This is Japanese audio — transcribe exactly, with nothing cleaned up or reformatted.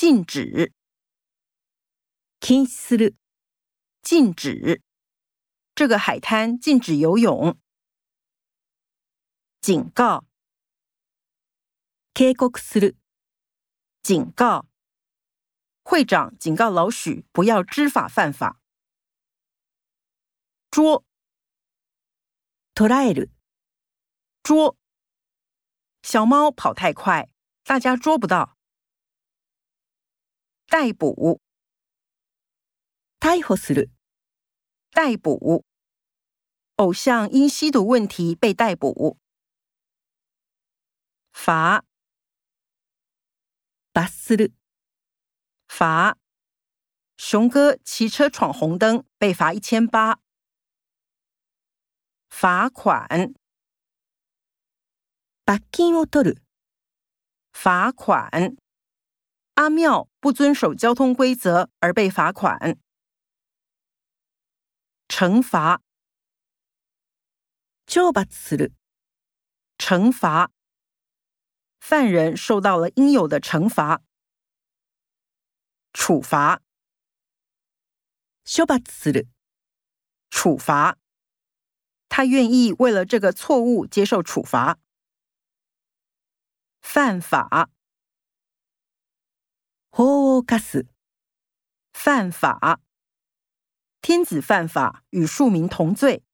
禁止。 禁止する。 禁止。这个海滩禁止游泳。警告。 警告する。 警告。会长警告老许不要知法犯法。捉。 捕らえる。 捉。小猫跑太快，大家捉不到。逮捕。 逮捕する。 逮捕。偶像因吸毒问题被逮捕。罚。 罰する。 罚。熊哥骑车闯红灯，被罚一千八。罚款。 罰金を取る。 罚款。阿妙不遵守交通规则而被罚款。惩罚。 懲罰する。 惩罚。犯人受到了应有的惩罚。处罚。 処罰する。 处罚。他愿意为了这个错误接受处罚。犯法。 法を犯す。 犯法。天子犯法，与庶民同罪。